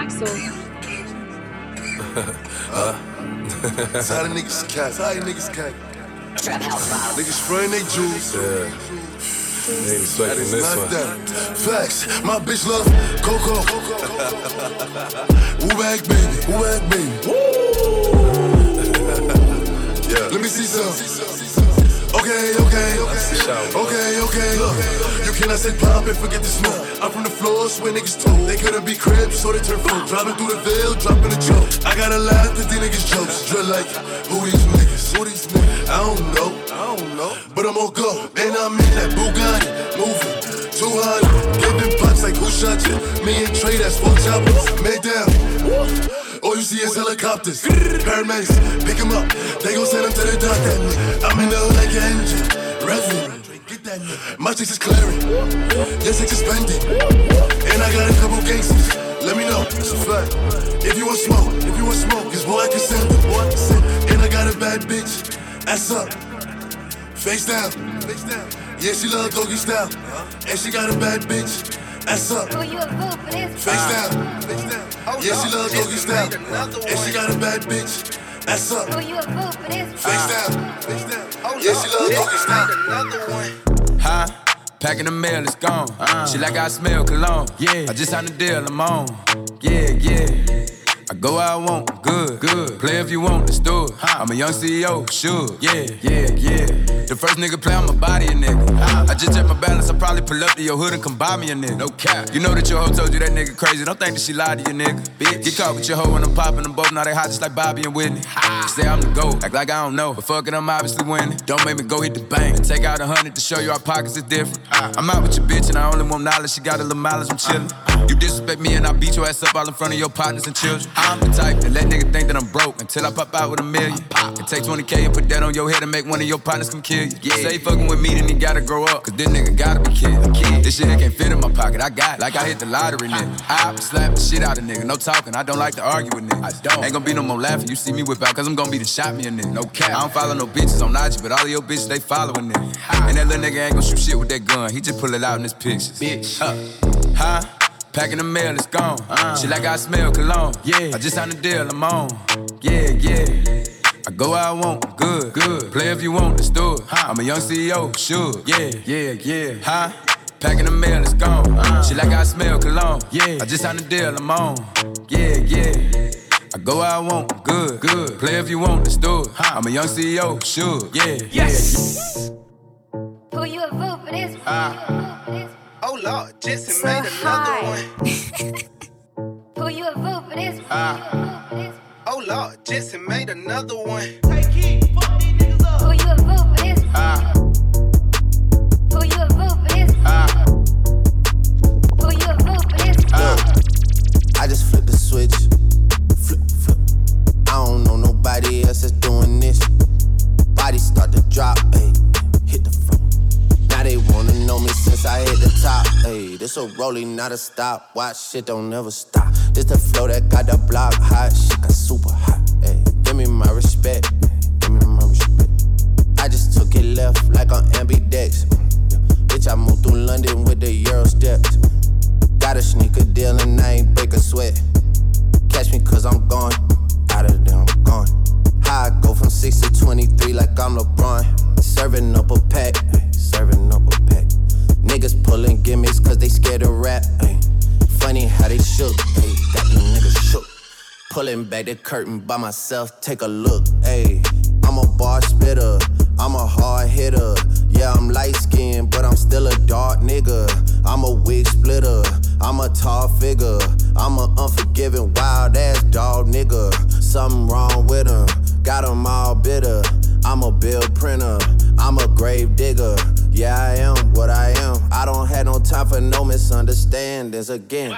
Axel. That's how the niggas cat. Niggas spraying they juice. Yeah. They ain't expecting this one. Facts, my bitch love Coco. Woo back baby. Yeah. Let me see some. Okay. Look, you cannot say pop and forget the smoke. I'm from the floors where niggas told they couldn't be cribs, so they turn folk. Driving through the veil, dropping a joke. I gotta laugh at these niggas jokes. Drill like, who these niggas? I don't know. But I'm on go, and I'm in that Bugatti, moving 200, giving pops like who shot you? Me and Trey, that's 4 choppers, made down. All you see is helicopters, paramedics, pick him up. They gon' send him to the doctor. I'm in the hood like an engine, revving. My chicks is clearing, your chicks is spending. And I got a couple gangsters, let me know, it's a fact. If you want smoke, cause boy I can send them. And I got a bad bitch, ass up, face down. Yeah, she love doggy style. And she got a bad bitch, ass up, face down. Yeah, she love doggy style. And she got a bad bitch, ass up, face down. Yeah, she love doggy style. Huh? Packing the mail, it's gone. She like I smell cologne. Yeah, I just signed the deal, I'm on. Yeah. I go where I want, good. Play if you want, let's do it. I'm a young CEO, sure. Yeah. The first nigga play, I'ma body a nigga. I just check my balance, I probably pull up to your hood and come buy me a nigga. No cap. You know that your hoe told you that nigga crazy. Don't think that she lied to you, nigga. Bitch. Get caught with your hoe when I'm popping them both. Now they hot just like Bobby and Whitney. Say I'm the GOAT, act like I don't know. But fuck it, I'm obviously winning. Don't make me go hit the bank. Take out 100 to show you our pockets is different. I'm out with your bitch and I only want knowledge. She got a little mileage, I'm chillin'. You disrespect me and I beat your ass up all in front of your partners and children. I'm the type that let nigga think that I'm broke until I pop out with $1 million. And take 20K and put that on your head and make one of your partners come kill you. Yeah. Say fucking with me, then he gotta grow up, cause this nigga gotta be killed. This shit can't fit in my pocket, I got it. Like I hit the lottery, nigga. I slap the shit out of nigga, no talking, I don't like to argue with niggas. I don't. Ain't gonna be no more laughing, you see me whip out, cause I'm gonna be the shot me a nigga. No cap. I don't follow no bitches on IG, but all of your bitches, they following nigga. And that little nigga ain't gonna shoot shit with that gun, he just pull it out in his pictures. Bitch. Huh? Packing the mail, it's gone. She like I smell cologne. Yeah, I just signed the deal, I'm on. Yeah. I go where I want, good. Play if you want, let's do it. I'm a young CEO, sure. Yeah. Huh? Packing the mail, it's gone. She like I smell cologne. Yeah, I just signed the deal, I'm on. Yeah. I go where I want, good. Play if you want, let's do it. I'm a young CEO, sure. Yeah. Yes. Who you a vote for this? Oh Lord, Jetson made another one. Who you a vote for this? Oh Lord, Jetson made another one. Take heat, fuck these niggas up. Who you a vote for this? Who you a vote for this? Who you a vote for this? I just flipped the switch. Flip. I don't know nobody else that's doing this. Body start to drop, ayy. Hit the floor. Now they wanna know me since I hit the top. Ayy, this a rolling, not a stop. Watch shit don't never stop. This the flow that got the block hot. Shit got super hot. Ayy, give me my respect. I just took it left like on ambidex. Bitch, I moved through London with the Euro steps. Got a sneaker deal and I ain't break a sweat. Catch me cause I'm gone. Out of there, I'm gone. How I go from 6 to 23 like I'm LeBron. Serving up a pack. Niggas pulling gimmicks cause they scared to rap. Ay. Funny how they shook. Ay. Got these niggas shook. Pulling back the curtain by myself, take a look. Ay. I'm a bar spitter, I'm a hard hitter. Yeah, I'm light skinned, but I'm still a dark nigga. I'm a wig splitter, I'm a tall figure. I'm a unforgiving, wild ass dog nigga. Something wrong with him, got him all bitter. I'm a bill printer, I'm a grave digger. Yeah, I am what I am. I don't have no time for no misunderstandings again.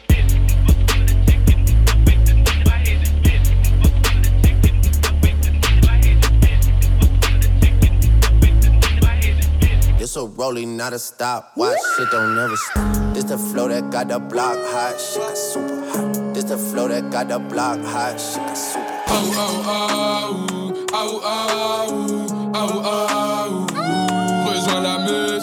This a rolling, not a stop. Watch shit don't never stop. This the flow that got the block hot. Shit got super hot. This the flow that got the block hot. Shit got super hot. Rejoins la meute.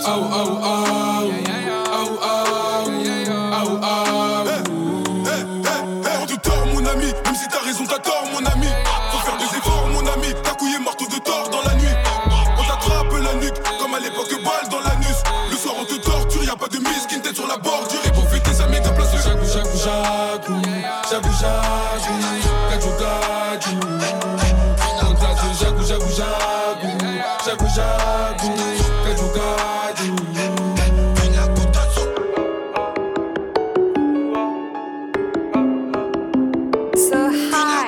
jagu, jagu jagu, gaju gaju. Contato jagu jagu jagu, jagu jagu, gaju gaju. So high.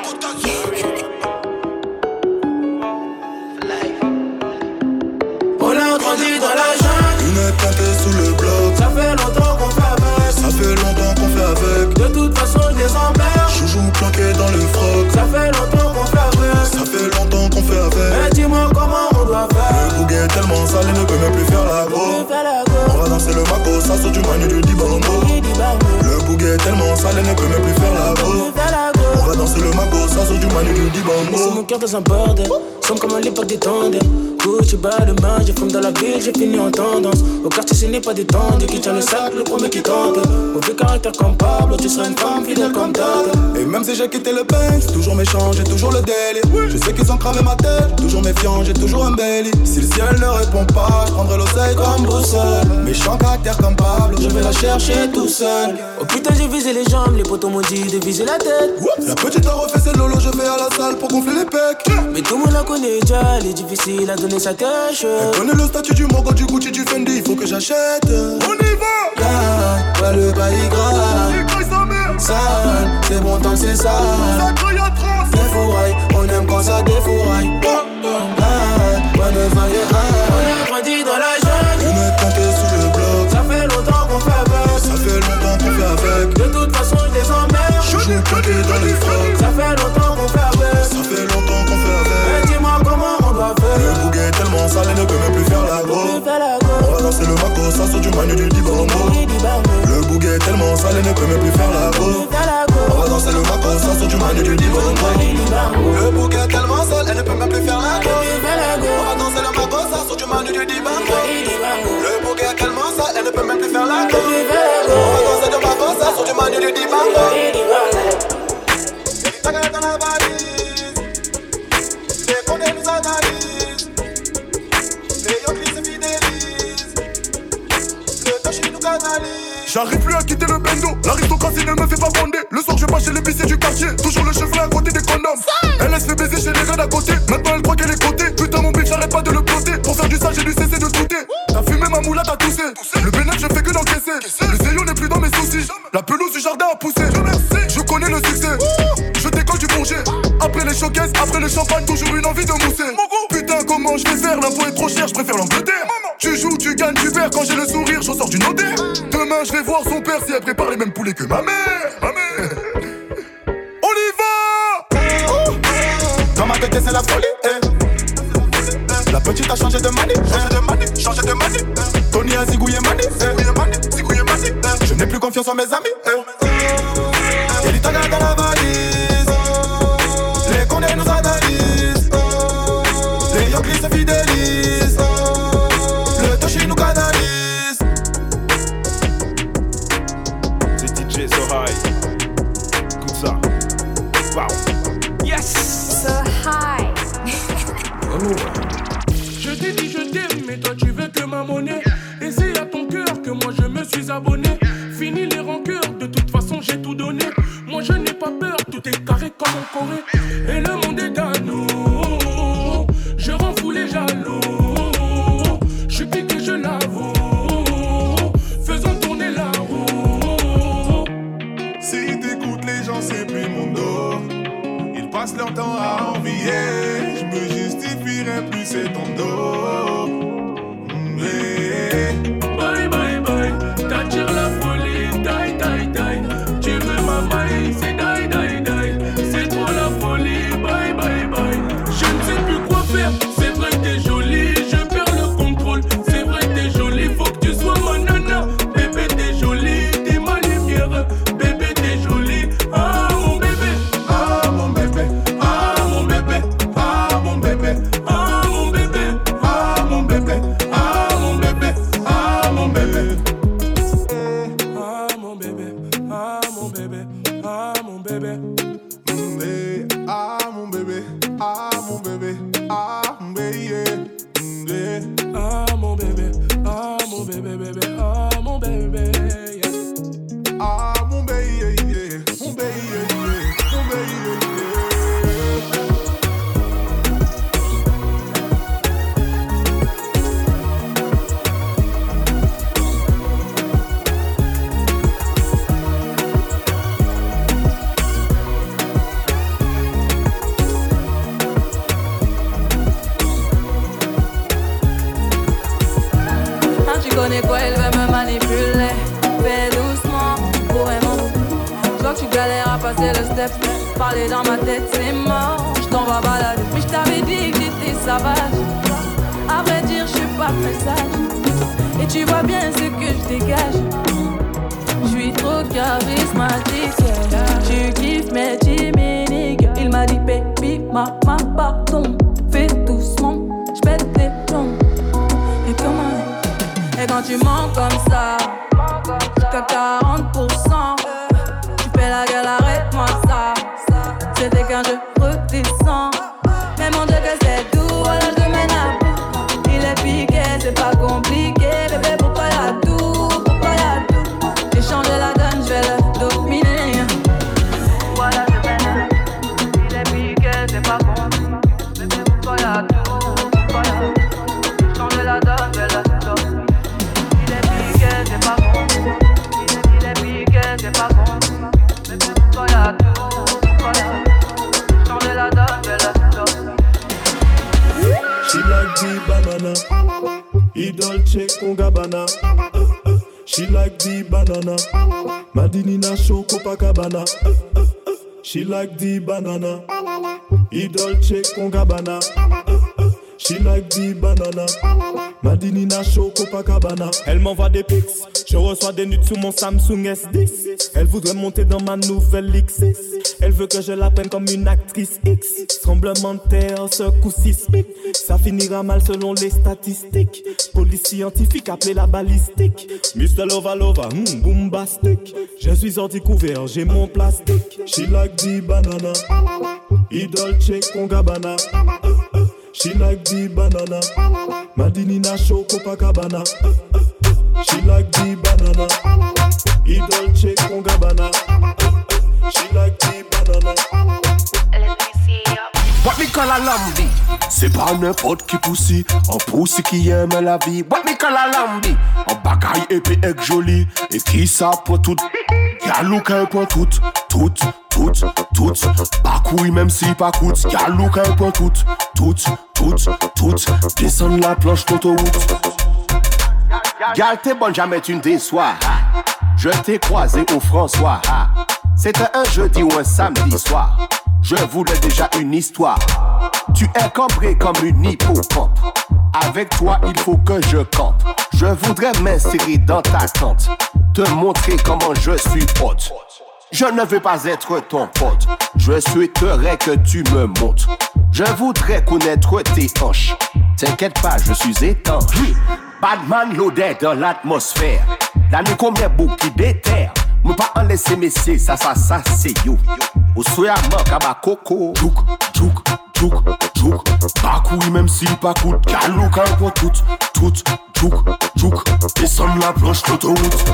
On a grandi dans la jungle. Lunettes teintées sous le bloc. Ça fait longtemps qu'on fait avec. Ça fait longtemps qu'on fait avec. De toute façon je les emmerde. Joujou planqué dans le froc. Ça fait longtemps qu'on fait avec. Ça fait longtemps qu'on fait avec. Mais dis-moi comment on doit faire. Le bouquet est tellement sale, il ne peut même plus faire la go. On va danser le maco, ça sort du manu du Dibango. Le bouquet est tellement sale, il ne peut même plus faire la go. On va danser le maco, ça sort du manu du Dibango. C'est mon cœur dans un bordel. Sommes comme à l'époque des tendres. Gucci bas de main, j'ai fume dans la ville, j'ai fini en tendance. Au quartier ce n'est pas détendu, qui tient le sac, le premier qui tente. Mauvais caractère comme Pablo, tu seras une femme fidèle comme Dada. Et même si j'ai quitté le Banks, toujours méchant, j'ai toujours le délire. Je sais qu'ils ont cramé ma tête, toujours méfiant, j'ai toujours un belly. Si le ciel ne répond pas, je prendrai l'oseille comme boussole. Méchant caractère comme Pablo, je vais la chercher tout seul. Oh putain j'ai visé les jambes, les potos m'ont dit de viser la tête. La petite a refait ses lolo, je vais à la salle pour gonfler les pecs. Mais tout le monde la connaît déjà, elle est difficile à donner sa tâche. Elle connaît le statut du Mogo, du Gucci, du Fendi, il faut que j'achète. On y va! Ouais le bail grave. Sale, c'est bon tant c'est sale. Défouraille, on aime quand ça défouraille. Ouais le bail grave. On a grandi dans la jungle. Lunettes teintées sous le bloc. Ça fait longtemps qu'on fait avec. Ça fait longtemps qu'on fait avec. De toute façon je les emmerde. Joujou planqué dans les frocs. Ça fait longtemps qu'on fait avec. Ça fait longtemps qu'on fait avec. Mais dis-moi comment on doit faire. Le bouquet est tellement sale, il ne peut même plus faire la go. On va danser le maco, ça sort du manu du Dibango. Le bouquet est tellement sale, il ne peut même plus faire la go. On va danser le maco, ça sort du manu du Dibango. Le bouquet est tellement sale, elle ne peut même plus faire la go. On va danser le maco, ça sort du manu du Dibango. Le bouquet est tellement sale, elle ne peut même plus faire la go. On va danser le maco, ça sort du manu du Dibango. Ta gueule dans la valise, les condés nous analysent, les yoklis se fidélisent, le toshi nous canalise. J'arrive plus à quitter le bendo, l'aristocratie ne me fait pas bander. Le soir je passe chez les viciers du quartier, toujours le cheveu à côté des condoms. Elle laisse fait baiser chez les gars d'à côté, maintenant elle croit qu'elle est cotée. Putain mon bif j'arrête pas de le ploter, pour faire du sale j'ai dû cesser de douter. T'as fumé ma moula, t'as toussé, le bénéfice je fais que d'encaisser. Le zéyo n'est plus dans mes soucis, la pelouse du jardin a poussé. Je connais le succès, je décolle du bourget. Après les showcases, après le champagne, toujours une envie de mousser. Putain comment je vais faire, l'impôt est trop cher, je préfère l'Angleterre. Tu joues, tu gagnes, tu perds, quand j'ai le sourire, j'en sors d'une odeur. Demain je vais voir son père si elle prépare les mêmes poulets que ma mère. On y va. Dans ma tête c'est la folie, La petite a changé de manie, changé de manie. Tony a zigouillé manie, Je n'ai plus confiance en mes amis, Y'a du taga dans la valise, les condés nous analysent, les yoklis se fidélisent, le toshi nous canalise. C'est DJ So High. Écoute ça. Wow. Yes. So high. Je t'ai dit je t'aime, mais toi tu veux que ma monnaie. Et c'est à ton cœur que moi je me suis abonné. Fini les rancœurs, de toute façon j'ai tout donné. Moi je n'ai pas peur, tout est carré comme en Corée. Et le monde est à nous, je rends fou les jaloux. Je suis piqué, je l'avoue, faisons tourner la roue. Si t'écoutes les gens c'est plus mon dos. Ils passent leur temps à envier. Je me justifierai plus c'est ton dos. Bye bye bye, t'attires la folie, die die die. Tu veux ma maille, c'est die die die. C'est trop la folie, bye bye bye. Je ne sais plus quoi faire, c'est vrai t'es jolie, je perds le contrôle. C'est vrai t'es jolie, faut que tu sois ma nana. Bébé t'es jolie, t'es ma lumière. Bébé t'es jolie, ah mon bébé, ah mon bébé, ah mon bébé, ah mon bébé, ah mon bébé, ah mon bébé, ah mon bébé, ah mon bébé. Ah mon bébé, ah mon bébé, ah mon bébé. Ah mon bébé, ah mon bébé, ah mon bébé. Ah mon bébé, ah mon bébé, bébé, ah mon bébé. Ah mon bébé, connais quoi, il veut me manipuler. Fais doucement, vraiment. Je vois que tu galères à passer le step. Parler dans ma tête, c'est mort. Je t'en vais balader. Mais je t'avais dit que j'étais sauvage. À vrai dire, je suis pas très sage. Et tu vois bien ce que je dégage. Je suis trop charismatique. Tu kiffes mes chimiques. Il m'a dit baby, maman, pardon. Fais doucement, j'pète les plombs. Et comment? Et quand tu mens comme ça, jusqu'à 40%, tu fais la gueule, arrête-moi ça. C'était quand je redescends. Mais mon Dieu que c'est doux, voilà je te mène à bout. Il est piqué, c'est pas compliqué. Bébé, pourquoi y'a tout? Pourquoi y'a tout? J'ai changé la donne, je vais le dominer. Voilà je te mène à bout. Il est piqué, c'est pas compliqué. Bébé, pourquoi y'a tout? Pourquoi y'a tout? J'ai changé la donne, je vais le dominer. Il est piqué, c'est pas compliqué. Il est piqué, c'est pas compliqué. Bébé, pourquoi y'a tout? Pourquoi y'a tout? La donne, je la donne. She like the banana, Dolce con Gabbana. She like the banana, Madinina show Copacabana. She like the banana, Dolce con Gabbana. She like the banana, Madinina show Copacabana. Elle m'envoie des pics, je reçois des nudes sur mon Samsung S10. Elle voudrait monter dans ma nouvelle X6. Elle veut que je la prenne comme une actrice X. Tremblement de terre, secousse sismique. Ça finira mal selon les statistiques. Police scientifique appelée la balistique. Mr. Lova Lova, boombastic. Je suis ordi couvert, j'ai mon plastique. She like the banana, Dolce con Gabbana. She like the banana, Madinina show Copacabana. She like the banana, Dolce con Gabbana. She like the banana. What me call a lambi? C'est pas n'importe qui poussi, un poussi qui aime la vie. What me call a lambi? Un bagaille épais et joli, et qui ça pour tout. Galou qu'un pour tout. Pas couille même si pas coûte. Galou qu'un pour tout. Descends la planche d'autoroute. Gal t'es bonne, jamais tu ne déçois. Je t'ai croisé au François. C'était un jeudi ou un samedi soir. Je voulais déjà une histoire. Tu es cambré comme une hippocampe. Avec toi il faut que je campe. Je voudrais m'insérer dans ta tente, te montrer comment je suis pote. Je ne veux pas être ton pote. Je souhaiterais que tu me montes. Je voudrais connaître tes hanches. T'inquiète pas, je suis étanche. Badman l'odeur dans l'atmosphère. La nuit combien beau qui déterre. Me pas en laisser messieurs, ça c'est yo. Au soya manque à ma coco. Jouk. Pas même si pas coûte. Galou quand pour tout. Descends la planche d'autoroute.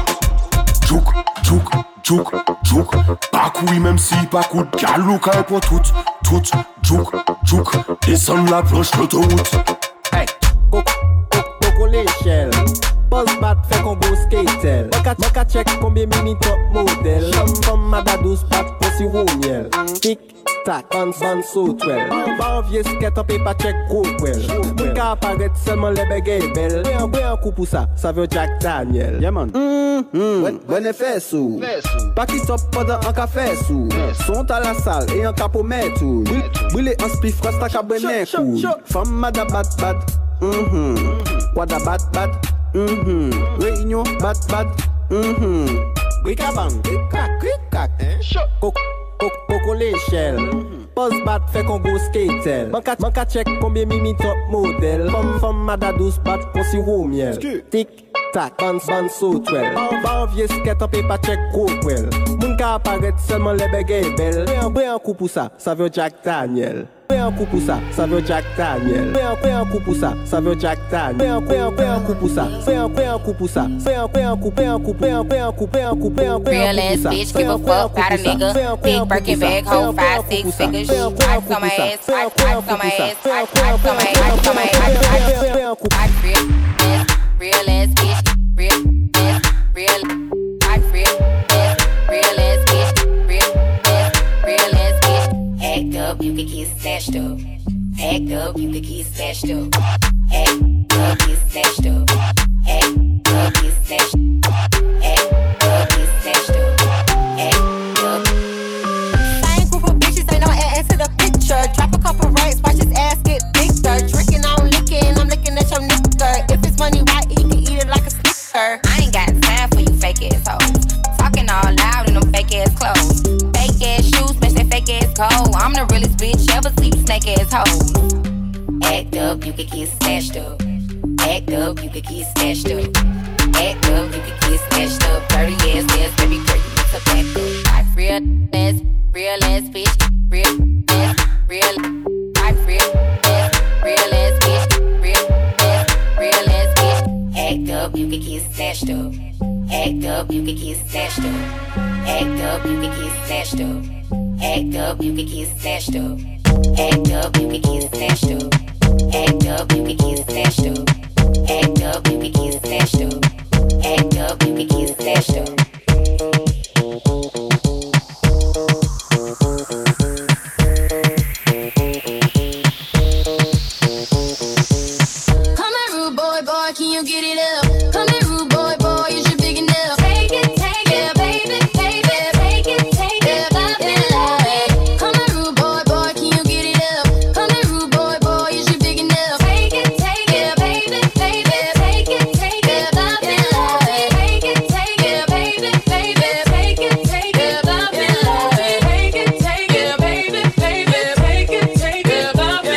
Jouk. Pas même si pas coûte. Galou quand pour tout. Jouk. Descends la planche d'autoroute. Hey, coco l'échelle. Pose bat fait combo skatel. Maka check combien mini top modèle. Comme madadous bat pour si roux miel. Tic tac, ban so 12. Pas envier skate up et pas check gros well. Mon cas apparaît seulement les bégayes belles. Un coup pour ça veut Jack Daniel. Yeah man. Bon effet sous. Pas qui stop pendant un café sous. Sont à la salle et un capot met tout. Brûler un spliff rasta cabernet cool. Femme madabat bad. Wada bad. Réunion bad. Bricabang, cric-crac. Coco l'échelle. Pose bat fait combo skatel. Manka check combien mimi top modèle. Femme madadous bat pour si roux miel. Tic tac, ban so 12. Pas envier skate up et pas check gros well. Mon cas apparaît seulement les bégayes belles. Un coup pour ça veut Jack Daniel. Un coup pour ça veut Jack Daniel. Un coup pour ça veut Jack Daniel. Un coup pour ça. Un coup pour ça. Un coup. Real ass bitch, give a fuck about a nigga. Big Birkin bag, hold 5-6 figures. Ice on my ass, ice on my ass, ice on my ass. Real ass bitch, real ass bitch. Act up, you can get snatched up. Act up, you can get snatched up. Act up, get snatched up. Act up. cold. I'm the realest bitch ever see snake ass hoes. Act up, you can get snatched up. Act up, you can get snatched up. Act up, you can get snatched up. Dirty ass, baby girl, you need to back up. Like real ass bitch, real ass, like real ass bitch, real ass bitch. Act up, you can get snatched up. Act up, you can get snatched up. Act up, you can get snatched up. Act up, you can get snatched up. Act up, you can get snatched up. Act up, you can get snatched up. Act up, you can get snatched up. Act up, you can get snatched up. Come here, rude boy, can you get it up? Come here, rude boy, is you big enough? Take it, yeah, baby, take it, yeah, baby. Come here, rude boy, can you get it up? Come here, rude boy, is you big enough? Take it, yeah, baby, take it, yeah, baby. Take it, yeah, baby, take it, yeah, baby. Take it, yeah, baby, take it, yeah, baby. Take it, yeah, baby,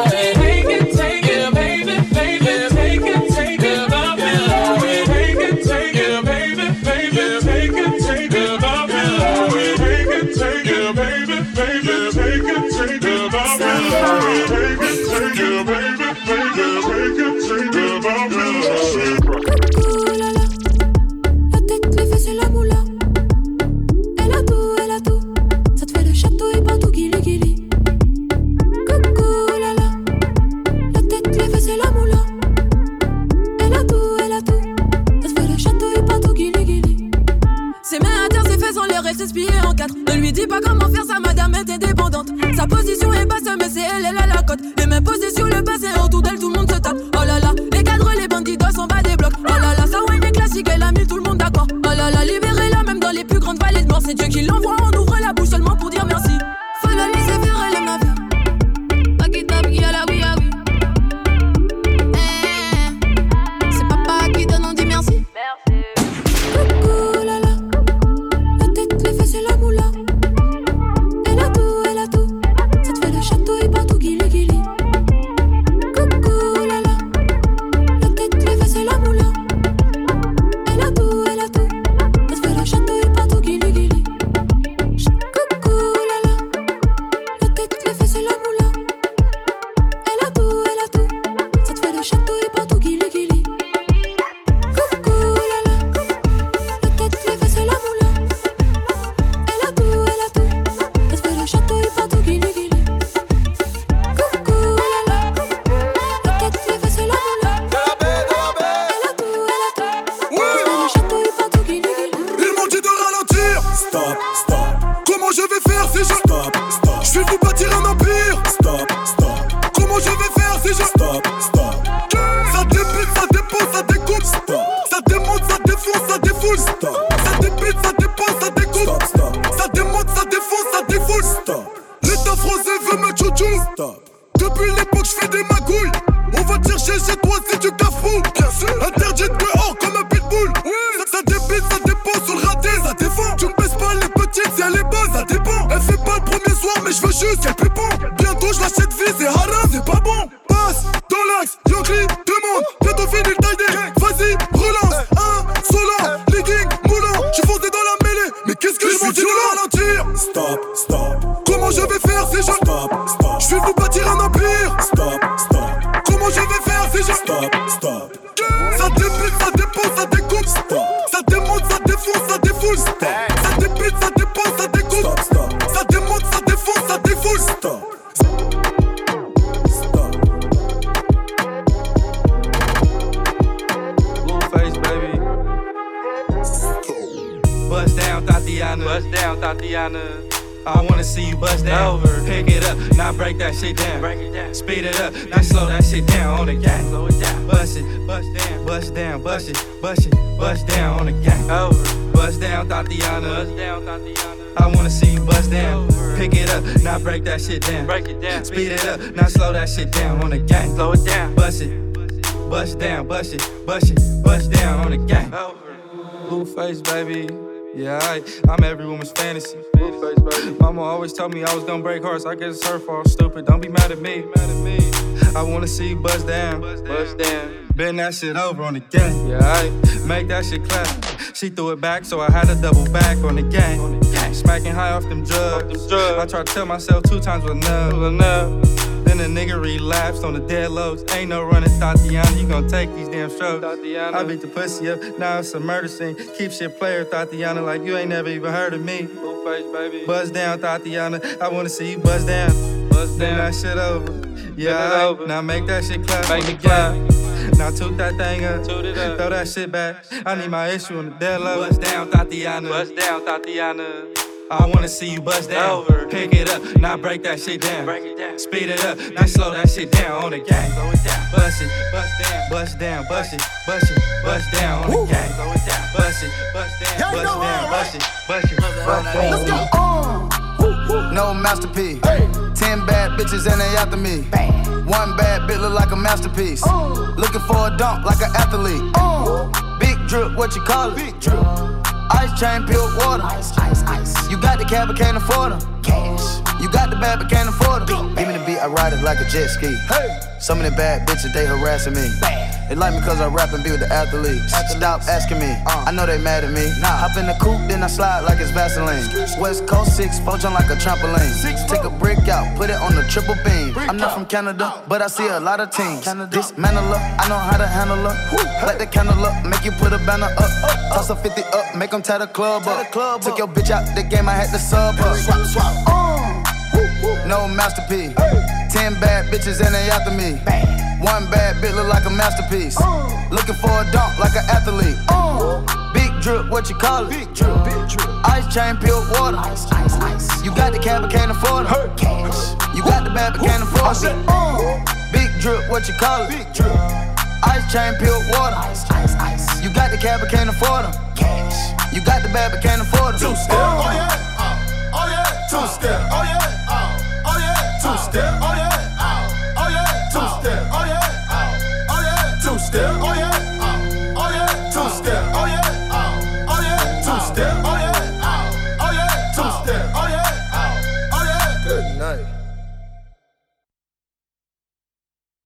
Ne lui dis pas comment faire, sa madame est indépendante. Sa position est basse, mais c'est elle a la cote. Les mêmes positions, le bassin autour d'elle, tout le monde se tape. Oh là là, les cadres, les bandits s'en bas des blocs. Oh là là, sa wine est classique, elle a mis tout le monde d'accord. Oh là là, libérez-la même dans les plus grandes vallées de mort. C'est Dieu qui l'envoie, on ouvre la bouche seulement pour dire merci. Faut la laisser faire, elle aime la vie. Pas qui tape, qui a la oui, ah oui. C'est papa qui donne, on dit merci. Coucou, là là. La tête, les fesses et la moula. Elle a tout, ça te fait le château et partout, guili guili. Coucou, là là. La tête, les fesses et la moula. Elle a tout, ça te fait le château et partout, guili guili. Coucou, là là. La tête, les fesses et la moula. Elle a tout, ça te fait le château et partout, guili guili. Coucou, là là. La tête, les fesses et la moula. Elle a tout, ça te fait le château et partout, guili guili. Coucou, là là. La tête, les fesses et la moula. Elle a tout, ça te fait le château et partout, guili guili. Ils m'ont dit de ralentir. Stop. Comment je vais faire si je stop. Je vais vous bâtir un empire. Stop. Comment je vais faire si je stop. Ça débute, ça dépose, ça découpe. Stop. Ça démonte, ça défonce, ça défoule. Stop. Ça débute, ça dépose, ça découpe. Stop. Ça démonte, ça défonce, ça défoule. Stop. L'état français veut me tchou-tchou. Stop. Depuis l'époque, je fais des magouilles. On va te chercher chez toi si tu cafous. Bien sûr. Interdit de dehors comme un pitbull. Ça débute, ça dépose sur le raté. Ça défend. Tu ne baisses pas les petites si elle est basse, ça dépend. Elle fait pas le premier soir, mais je veux juste qu'elle pépon. Bientôt, je l'achète vie, c'est haram, c'est pas bon. Passe dans l'axe, Yankee, demande. Bientôt fini le taille. Vas-y, relance. Insolent, legging, moulant. J'suis foncé dans la mêlée. Mais qu'est-ce que je m'en dis de ralentir? Stop. Comment je vais faire si je stop. Je vais vous bâtir un empire. Stop. Comment je vais faire si je stop. Ça débute, ça dépose, ça découpe. Stop. Ça démonte, ça défonce, ça défoule. Stop. Ça débute, ça dépose, ça découpe. Stop. Ça démonte, ça défonce, ça défoule. Stop. Blueface, baby. Bust down, Tatiana. I wanna see you bust down. Pick it up, now break that shit down. Speed it up, now slow that shit down on the gang. Bust it, bust down, bust it, bust down on the gang. Bust down, Tatiana. I wanna see you bust down. Pick it up, now break that shit down. Speed it up, now slow that shit down on the gang. Slow it down, bust it, bust down, bust down on the gang. Blueface, baby. Yeah, I'm every woman's fantasy. Mama always told me I was gonna break hearts. I guess it's her fault, stupid. Don't be mad at me. I wanna see you bust down. Bend that shit over on the gang. Yeah, make that shit clap. She threw it back, so I had to double back on the gang. Smacking high off them drugs. I tried to tell myself 2 times was enough. Then the nigga relapsed on the dead lows. Ain't no running, Tatiana. You gon' take these damn strokes. I beat the pussy up, now it's a murder scene. Keep shit player, Tatiana, like you ain't never even heard of me. Buzz down, Tatiana. I wanna see you buzz down. Buzz down, that shit over. Yeah, now make that shit clap. Make it clap. Now toot that thing up. Throw that shit back. I need my issue on the dead low. Buzz down, Tatiana. Buzz down, Tatiana. I wanna see you bust down. Pick it up, now break that shit down. Speed it up, now slow that shit down on the gang. Bust it, bust down, bust down, bust it, bust it, bust down on the gang. Bust it, bust down, bust down, bust it, bust it, bust down. Let's go. No masterpiece. 10 bad bitches and they after me. 1 bad bitch look like a masterpiece. Looking for a dunk like an athlete. Big drip, what you call it? Big drip. Ice chain, peeled water. Ice. You got the cab, but can't afford them. Cash. You got the bad, but can't afford them. Give me the beat, I ride it like a jet ski. Hey. Some of the bad bitches, they harassing me. They like me cause I rap and be with the athletes. Stop asking me, I know they mad at me. Hop in the coupe, then I slide like it's Vaseline. West Coast 6, poach on like a trampoline. Take a brick out, put it on the triple beam. I'm not from Canada, but I see a lot of teams. Dismantle her, I know how to handle her. Light the candle up, make you put a banner up. Toss a 50 up, make them tie the club up. Took your bitch out the game, I had to sub her. No masterpiece. 10 bad bitches and they after me. 1 bad bitch look like a masterpiece. Looking for a dunk like an athlete. Big drip, what you call it? Big drip. Ice chain, peeled water. Ice. You got the cab, but can't afford it. Cash. You got the bad, but can't afford it. Big drip, what you call it? Big drip. Ice chain, peeled water. Ice. You got the cab, but can't afford it. Cash. You got the bad, but can't afford it. 2-step, oh yeah, oh yeah. 2-step, oh yeah. 2-step, oh yeah, oh yeah, 2-step, oh yeah, oh yeah, 2-step, oh yeah, oh yeah, 2-step, oh yeah, oh yeah, 2-step, oh yeah.